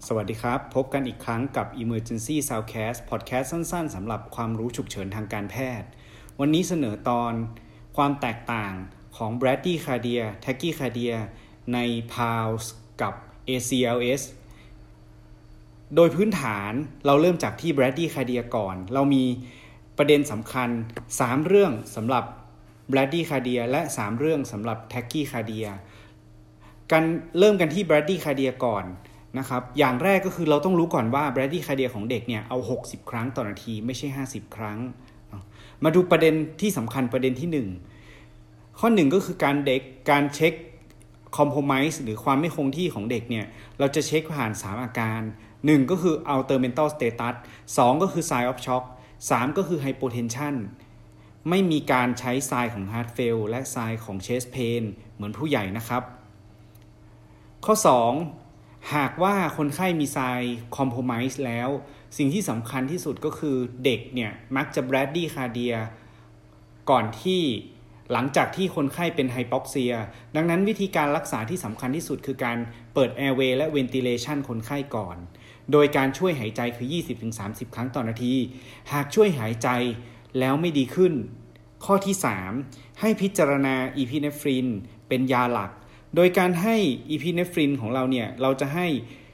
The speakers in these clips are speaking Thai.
สวัสดีครับพบกันอีกครั้งกับ Emergency Soundcast Podcast สั้นๆสำหรับความรู้ฉุกเฉินทางการแพทย์วันนี้เสนอตอนความแตกต่างของ Bradycardia Tachycardia ใน PALS กับ ACLS โดยพื้นฐานเราเริ่มจากที่ Bradycardia ก่อนเรามีประเด็นสำคัญ3เรื่องสำหรับ Bradycardia และ3เรื่องสำหรับ Tachycardia กันเริ่มกันที่ Bradycardia ก่อนนะครับอย่างแรกก็คือเราต้องรู้ก่อนว่า Bradycardia ของเด็กเนี่ยเอา60ครั้งต่อนาทีไม่ใช่50ครั้งมาดูประเด็นที่สำคัญประเด็นที่1ข้อ1ก็คือการเช็ค compromise หรือความไม่คงที่ของเด็กเนี่ยเราจะเช็คผ่าน3อาการ1ก็คือ alter mental status 2ก็คือ sign of shock 3ก็คือ hypotension ไม่มีการใช้ sign ของ heart fail และ sign ของ chest pain เหมือนผู้ใหญ่นะครับข้อ2หากว่าคนไข้มีไซน์คอมโพไมซ์แล้วสิ่งที่สำคัญที่สุดก็คือเด็กเนี่ยมักจะ Bradycardia ก่อนที่หลังจากที่คนไข้เป็นไฮพ็อกเซียดังนั้นวิธีการรักษาที่สำคัญที่สุดคือการเปิดแอร์เวย์และเวนติเลชันคนไข้ก่อนโดยการช่วยหายใจคือ 20-30 ครั้งต่อนาทีหากช่วยหายใจแล้วไม่ดีขึ้นข้อที่3ให้พิจารณาอีพิเนฟรินเป็นยาหลักโดยการให้อีพิเนฟรินของเราเนี่ยเราจะให้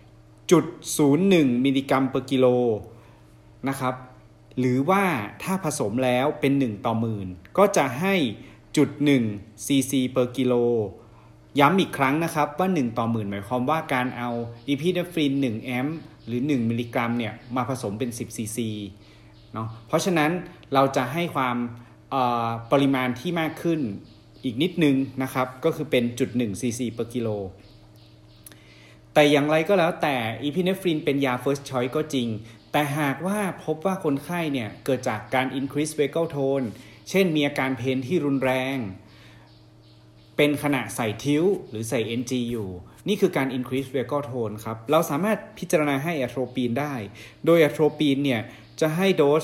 0.01 มิลลิกรัมเปอร์กิโลนะครับหรือว่าถ้าผสมแล้วเป็น1ต่อหมื่นก็จะให้ 0.1 ซีซีเปอร์กิโลย้ำอีกครั้งนะครับว่า1ต่อหมื่นหมายความว่าการเอาอีพิเนฟริน1แอมป์หรือ1มิลลิกรัมเนี่ยมาผสมเป็น10ซีซีเนาะเพราะฉะนั้นเราจะให้ความปริมาณที่มากขึ้นอีกนิดนึงนะครับก็คือเป็น 0.1 ซีซีเปอร์กิโลแต่อย่างไรก็แล้วแต่อีพิเนฟรินเป็นยา first choice ก็จริงแต่หากว่าพบว่าคนไข้เนี่ยเกิดจากการ increase vagal tone เช่นมีอาการเพนที่รุนแรงเป็นขณะใส่ทิวหรือใส่ NG อยู่นี่คือการ increase vagal tone ครับเราสามารถพิจารณาให้อะโทรปีนได้โดยอะโทรปีนเนี่ยจะให้โดส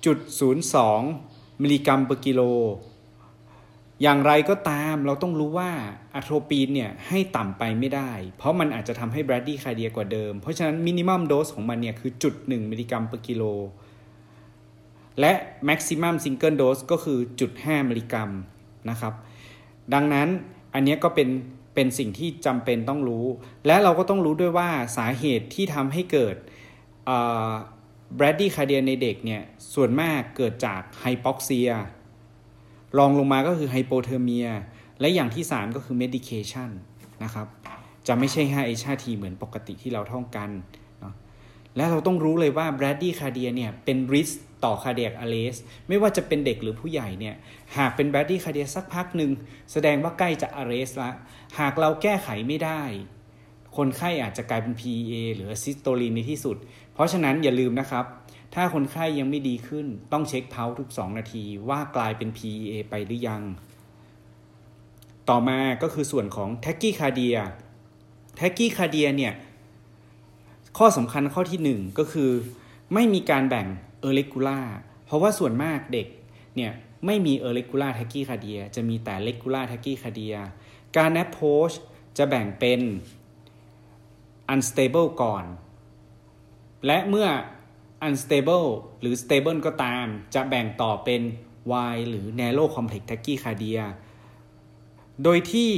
0.02 มิลลิกรัมเปอร์กิโลอย่างไรก็ตามเราต้องรู้ว่าอะโทรปีนเนี่ยให้ต่ำไปไม่ได้เพราะมันอาจจะทำให้ Bradycardia กว่าเดิมเพราะฉะนั้นมินิมัมโดสของมันเนี่ยคือ 0.1 มิลลิกรัมเปอร์กิโลและ maximum single dose ก็คือ 0.5 มิลลิกรัมนะครับดังนั้นอันนี้ก็เป็นสิ่งที่จำเป็นต้องรู้และเราก็ต้องรู้ด้วยว่าสาเหตุที่ทำให้เกิดBradycardia ในเด็กเนี่ยส่วนมากเกิดจากไฮพ็อกเซียรองลงมาก็คือไฮโปเทอร์เมียและอย่างที่3ก็คือเมดิเคชันนะครับจะไม่ใช่ 5H5T เหมือนปกติที่เราท่องกันเนาะและเราต้องรู้เลยว่า Bradycardia เนี่ยเป็น risk ต่อ cardiac arrest ไม่ว่าจะเป็นเด็กหรือผู้ใหญ่เนี่ยหากเป็น Bradycardia สักพักหนึ่งแสดงว่าใกล้จะ arrest ละหากเราแก้ไขไม่ได้คนไข้อาจจะกลายเป็น PEA หรือ Systole ในที่สุดเพราะฉะนั้นอย่าลืมนะครับถ้าคนไข้ยังไม่ดีขึ้นต้องเช็คเพาทุก2นาทีว่ากลายเป็น PEA ไปหรือยังต่อมาก็คือส่วนของ Tachycardia Tachycardia เนี่ยข้อสำคัญข้อที่1ก็คือไม่มีการแบ่ง Irregular เพราะว่าส่วนมากเด็กเนี่ยไม่มี Irregular Tachycardia จะมีแต่ Regular Tachycardia การ approach จะแบ่งเป็น unstable ก่อนและเมื่อunstable หรือ stable ก็ตามจะแบ่งต่อเป็น wide หรือ narrow complex tachycardia โดยที่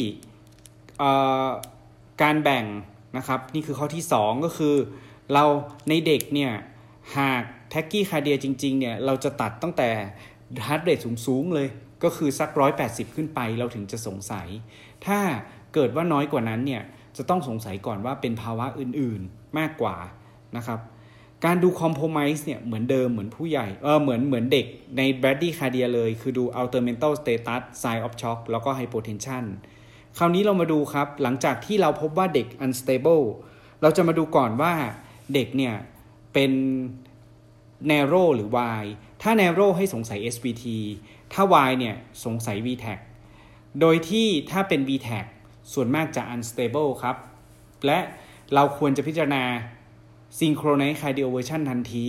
การแบ่งนะครับนี่คือข้อที่2ก็คือเราในเด็กเนี่ยหาก tachycardia จริงๆเนี่ยเราจะตัดตั้งแต่ heart rate สูงๆเลยก็คือสัก180ขึ้นไปเราถึงจะสงสัยถ้าเกิดว่าน้อยกว่านั้นเนี่ยจะต้องสงสัยก่อนว่าเป็นภาวะอื่นๆมากกว่านะครับการดู compromise เนี่ยเหมือนเดิมเหมือนผู้ใหญ่เหมือนเด็กใน Bradycardia เลยคือดู alter mental status sign of shock แล้วก็ hypotension คราวนี้เรามาดูครับหลังจากที่เราพบว่าเด็ก unstable เราจะมาดูก่อนว่าเด็กเนี่ยเป็น narrow หรือ wide ถ้า narrow ให้สงสัย SVT ถ้า wide เนี่ยสงสัย VTAC โดยที่ถ้าเป็น VTAC ส่วนมากจะ unstable ครับและเราควรจะพิจารณาSynchronized Cardioversion ทันที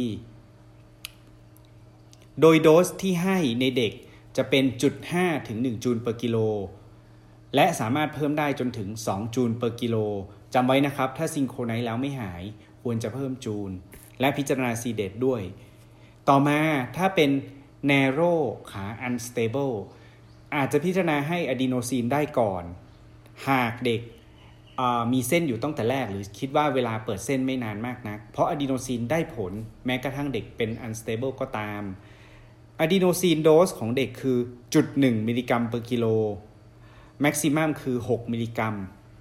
โดยโดสที่ให้ในเด็กจะเป็น 0.5 ถึง 1 จูลเปอร์กิโลและ สามารถเพิ่มได้จนถึง2จูลเปอร์กิโลจำไว้นะครับถ้าซิงโครไนซ์แล้วไม่หายควรจะเพิ่มจูนและพิจารณา CDET ด้วยต่อมาถ้าเป็น narrow ขา unstable อาจจะพิจารณาให้อะดีโนซีนได้ก่อนหากเด็กมีเส้นอยู่ตั้งแต่แรกหรือคิดว่าเวลาเปิดเส้นไม่นานมากนักเพราะอะดีโนซีนได้ผลแม้กระทั่งเด็กเป็น unstable ก็ตามอะดีโนซีนโดสของเด็กคือ 0.1 มิลลิกรัมเปอร์กิโลแม็กซิมัมคือ6มิลลิกรัม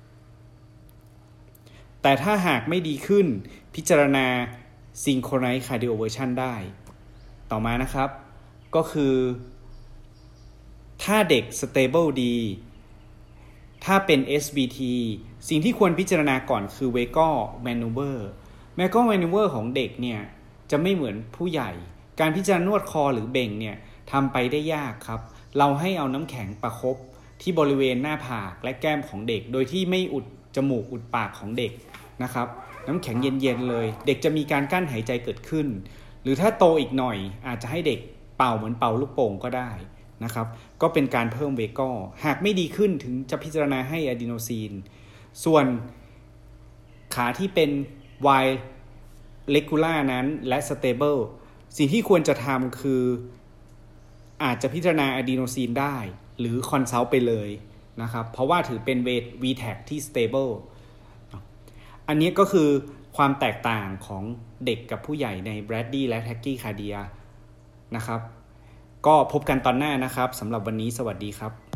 แต่ถ้าหากไม่ดีขึ้นพิจารณา synchronized cardioversion ได้ต่อมานะครับก็คือถ้าเด็ก stable ดีถ้าเป็น SVT สิ่งที่ควรพิจารณาก่อนคือ Vagal maneuver Vagal maneuver ของเด็กเนี่ยจะไม่เหมือนผู้ใหญ่การพิจารณานวดคอหรือเบ่งเนี่ยทำไปได้ยากครับเราให้เอาน้ำแข็งประคบที่บริเวณหน้าผากและแก้มของเด็กโดยที่ไม่อุดจมูกอุดปากของเด็กนะครับน้ำแข็งเย็นๆเลยเด็กจะมีการกั้นหายใจเกิดขึ้นหรือถ้าโตอีกหน่อยอาจจะให้เด็กเป่าเหมือนเป่าลูกโป่งก็ได้นะครับก็เป็นการเพิ่มเวกอหากไม่ดีขึ้นถึงจะพิจารณาให้อะดีโนซีนส่วนขาที่เป็น wide regular นั้นและ stable สิ่งที่ควรจะทำคืออาจจะพิจารณาอะดีโนซีนได้หรือคอนซัลท์ไปเลยนะครับเพราะว่าถือเป็น VTAC ที่ stable อันนี้ก็คือความแตกต่างของเด็กกับผู้ใหญ่ใน Brady และ Tachycardia นะครับก็พบกันตอนหน้านะครับสำหรับวันนี้สวัสดีครับ